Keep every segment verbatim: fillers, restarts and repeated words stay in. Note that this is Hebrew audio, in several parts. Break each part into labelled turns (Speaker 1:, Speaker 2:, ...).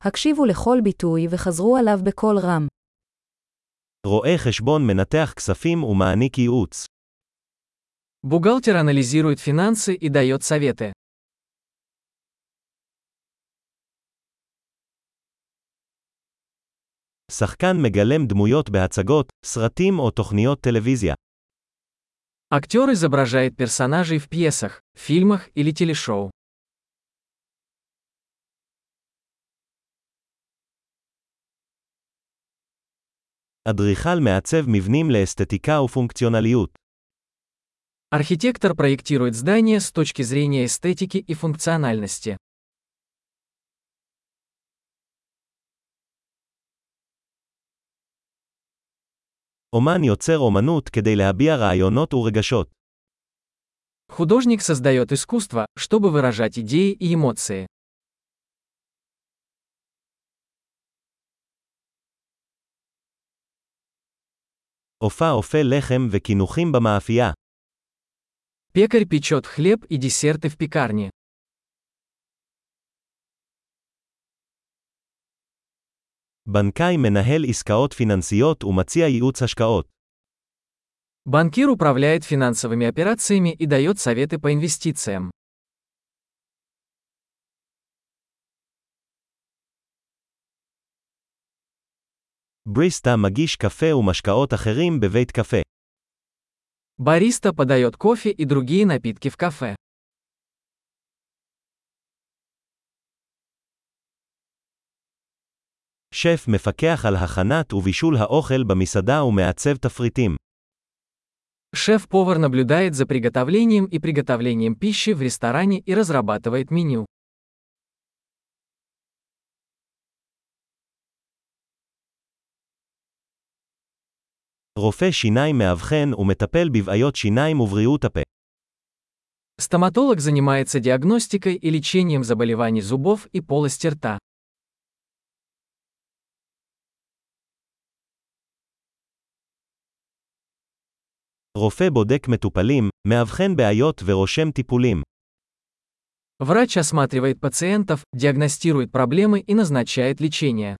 Speaker 1: הקשיבו לכל ביטוי וחזרו עליו בקול רם.
Speaker 2: רואה חשבון מנתח כספים ומעניק ייעוץ.
Speaker 3: Бухгалтер анализирует финансы и дает советы.
Speaker 2: שחקן מגלם דמויות בהצגות, סרטים או תוכניות טלוויזיה.
Speaker 3: Актер изображает персонажей в пьесах, фильмах или телешоу.
Speaker 2: אדריכל מעצב מבנים לאסתטיקה ופונקציונליות.
Speaker 3: Архитектор проектирует здания с точки зрения эстетики и функциональности.
Speaker 2: אומן יוצר אומנות כדי להביע רעיונות ורגשות.
Speaker 3: Художник создает искусство, чтобы выражать идеи и эмоции.
Speaker 2: אופה אופה לחם וקינוחים במאפייה.
Speaker 3: Пекарь печет хлеб и десерты в пекарне.
Speaker 2: בנקאי מנהל עסקאות פיננסיות ומציע ייעוץ השקעות.
Speaker 3: Банкир управляет финансовыми операциями и дает советы по инвестициям.
Speaker 2: בריסטה מגיש קפה ומשקאות אחרים בבית קפה.
Speaker 3: Бариста подает кофе и другие напитки в кафе.
Speaker 2: שף מפקח על הכנת ובישול האוכל במסעדה ומעצב תפריטים.
Speaker 3: Шеф-повар наблюдает за приготовлением и приготовлением пищи в ресторане и разрабатывает меню.
Speaker 2: רופא שיניים מאבחן ומטפל בבעיות שיניים ובריאות הפה.
Speaker 3: Стоматолог занимается диагностикой и лечением заболеваний зубов и полости рта.
Speaker 2: רופא בודק מטופלים, מאבחן בעיות ורושם טיפולים.
Speaker 3: Врач осматривает пациентов, диагностирует проблемы и назначает лечение.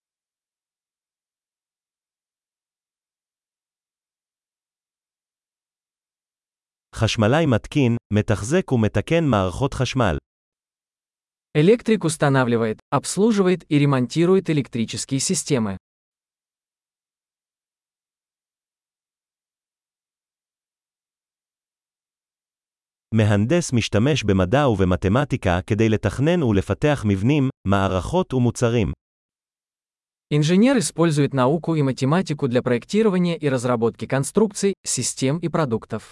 Speaker 2: חשמלאי מתקין, מתחזק ומתקן מערכות חשמל.
Speaker 3: Электрик устанавливает, обслуживает и ремонтирует электрические системы.
Speaker 2: מהנדס משתמש במדע ובמתמטיקה כדי לתכנן ולפתח מבנים, מערכות ומוצרים.
Speaker 3: Инженер использует науку и математику для проектирования и разработки конструкций, систем и продуктов.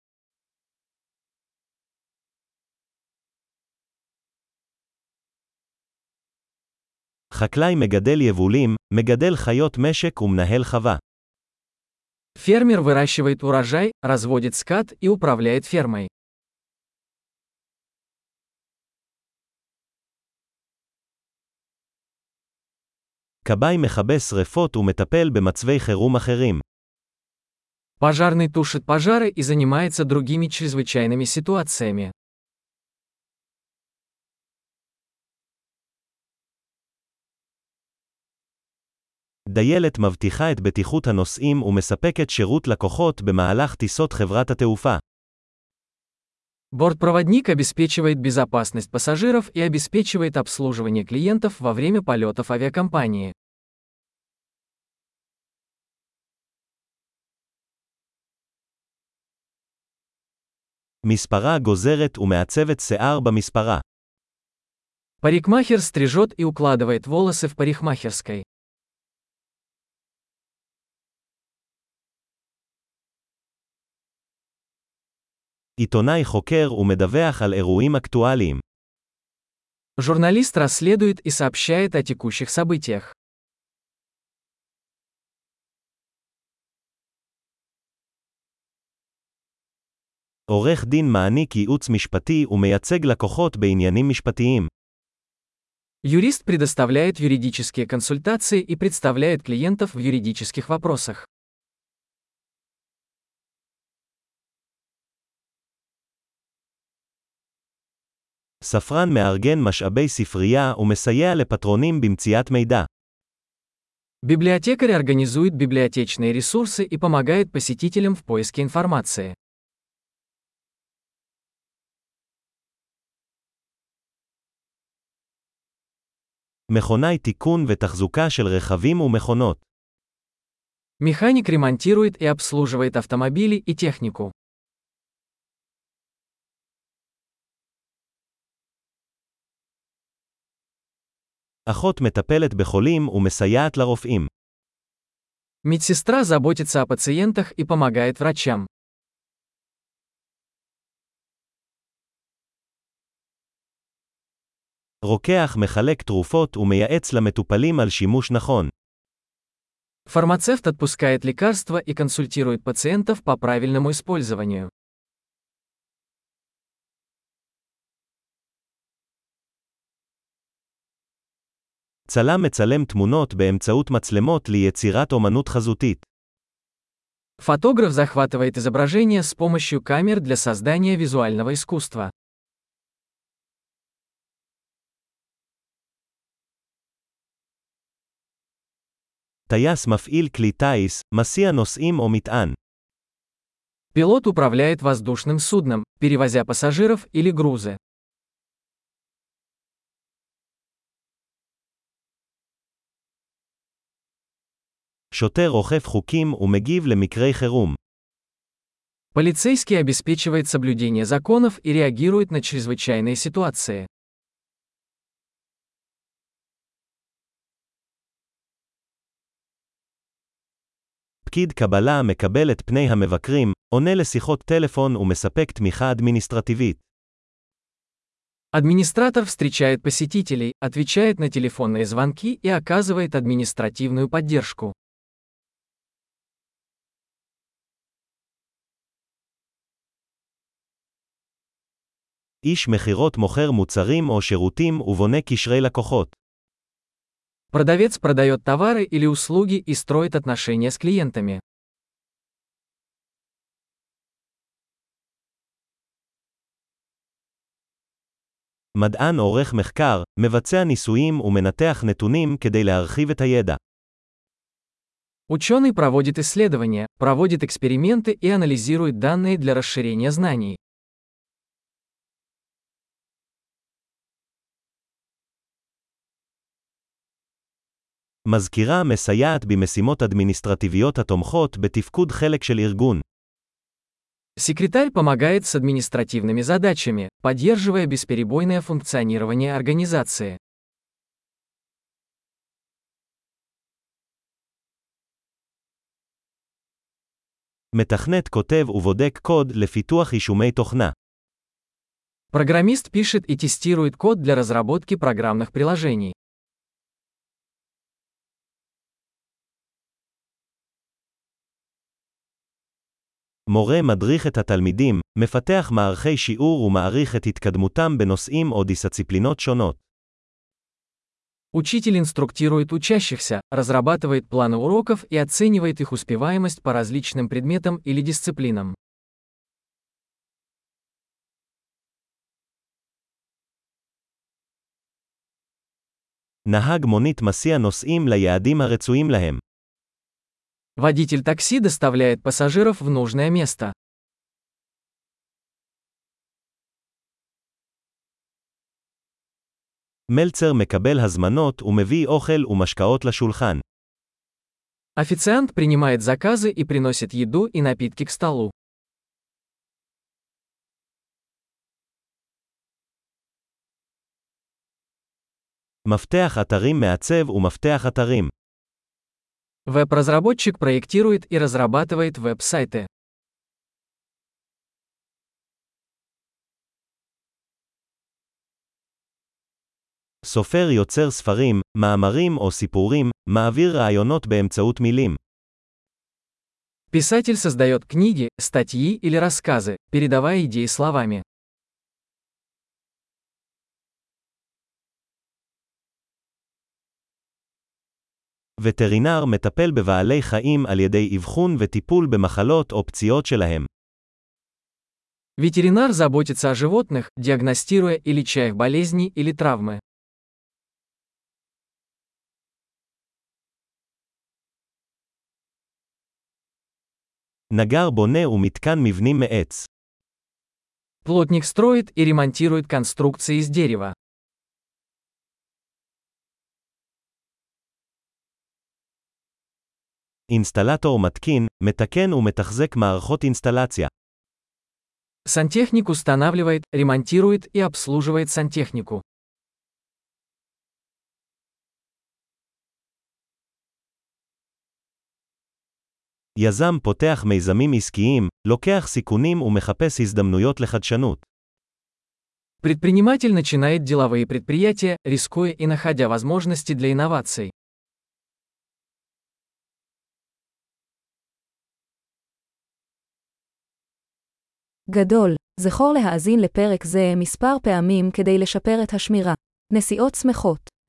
Speaker 2: חקלאי מגדל יבולים, מגדל חיות משק ומנהל חווה.
Speaker 3: Фермер выращивает урожай, разводит скот и управляет фермой.
Speaker 2: כבאי מכבה שרפות ומטפל במצבי חירום אחרים.
Speaker 3: Пожарный тушит пожары и занимается другими чрезвычайными ситуациями.
Speaker 2: דיילת מבטיחה את בטיחות הנוסעים ומספקת שירות לקוחות במהלך טיסות חברת התעופה.
Speaker 3: Бортпроводник обеспечивает безопасность пассажиров и обеспечивает обслуживание клиентов во время полетов авиакомпании.
Speaker 2: מספרה גוזרת ומעצבת שיער במספרה.
Speaker 3: Парикмахер стрижет и укладывает волосы в парикмахерской.
Speaker 2: עיתונאי חוקר ומדווח על אירועים אקטואליים.
Speaker 3: Журналист расследует и сообщает о текущих событиях.
Speaker 2: עורך דין מעניק ייעוץ משפטי ומייצג לקוחות בעניינים משפטיים.
Speaker 3: Юрист предоставляет юридические консультации и представляет клиентов в юридических вопросах.
Speaker 2: ספרן מארגן משאבי ספרייה ומסייע לפטרונים במציאת מידע.
Speaker 3: Библиотекарь организует библиотечные ресурсы и помогает посетителям в поиске информации.
Speaker 2: מכונאי תיקון ותחזוקה של רכבים ומכונות.
Speaker 3: Механик ремонтирует и обслуживает автомобили и технику.
Speaker 2: אחות מטפלת בחולים ומסייעת לרופאים.
Speaker 3: Медсестра заботится о пациентах и помогает врачам.
Speaker 2: רוקח מחלק תרופות ומייעץ למטופלים על שימוש נכון.
Speaker 3: Фармацевт отпускает лекарства и консультирует пациентов по правильному использованию.
Speaker 2: צלם מצלם תמונות באמצעות מצלמות ליצירת אומנות חזותית.
Speaker 3: Фотограф захватывает изображение с помощью камер для создания визуального искусства.
Speaker 2: טייס מפעיל כלי טיס, מסיע נוסעים או מטען.
Speaker 3: Пилот управляет воздушным судном, перевозя пассажиров или грузы.
Speaker 2: שוטר אוכף חוקים ומגיב למקרי חירום.
Speaker 3: Полицейский обеспечивает соблюдение законов и реагирует на чрезвычайные ситуации.
Speaker 2: פקיד קבלה מקבל את פני המבקרים, עונה לשיחות טלפון ומספק תמיכה אדמיניסטרטיבית.
Speaker 3: Администратор встречает посетителей, отвечает на телефонные звонки и оказывает административную поддержку.
Speaker 2: איש מכירות מוכר מוצרים או שירותים ובונה קשרי לקוחות.
Speaker 3: Продавец продает товары или услуги и строит отношения с клиентами.
Speaker 2: מדען עורך מחקר, מבצע ניסויים ומנתח נתונים כדי להרחיב את הידע.
Speaker 3: Ученый проводит исследования, проводит эксперименты и анализирует данные для расширения знаний.
Speaker 2: מזכירה מסייעת במשימות אדמיניסטרטיביות התומכות בתפקוד חלק של ארגון.
Speaker 3: Секретарь помогает с административными задачами, поддерживая бесперебойное функционирование организации.
Speaker 2: מתכנת כותב ובודק קוד לפיתוח יישומי תוכנה.
Speaker 3: Программист пишет и тестирует код для разработки программных приложений.
Speaker 2: מורה מדריך את התלמידים, מפתח מערכי שיעור ומעריך את התקדמותם בנושאים או דיסציפלינות שונות.
Speaker 3: Учитель инструктирует учащихся, разрабатывает планы уроков и оценивает их успеваемость по различным предметам или дисциплинам.
Speaker 2: נהג מונית מסיע נוסעים ליעדים הרצויים להם.
Speaker 3: Водитель такси доставляет пассажиров в нужное место.
Speaker 2: מלצר מקבל הזמנות ומביא אוכל ומשקאות לשולחן.
Speaker 3: Официант принимает заказы и приносит еду и напитки к столу.
Speaker 2: מפתח אתרים מעצב ומפתח אתרים.
Speaker 3: Веб-разработчик проектирует и разрабатывает веб-сайты.
Speaker 2: סופר יוצר ספרים, מאמרים או סיפורים, מעביר רעיונות באמצעות מילים.
Speaker 3: Писатель создает книги, статьи или рассказы, передавая идеи словами.
Speaker 2: וטרינר מטפל בבעלי חיים על ידי אבחון וטיפול במחלות או פציעות שלהם.
Speaker 3: Ветеринар заботится о животных, диагностируя и леча их болезни или травмы.
Speaker 2: נגר בונה ומתקן מבנים מעץ.
Speaker 3: Плотник строит и ремонтирует конструкции из дерева.
Speaker 2: אינסטלטור מתקין, מתקן ומתחזק מערכות אינסטלציה.
Speaker 3: Сантехник устанавливает, ремонтирует и обслуживает сантехнику.
Speaker 2: יזם פותח מיזמים עסקיים, לוקח סיכונים ומחפש הזדמנויות לחדשנות.
Speaker 3: Предприниматель начинает деловые предприятия, рискуя и находя возможности для инноваций.
Speaker 1: גדול, זכור להאזין לפרק זה מספר פעמים כדי לשפר את השמירה. נסיעות שמחות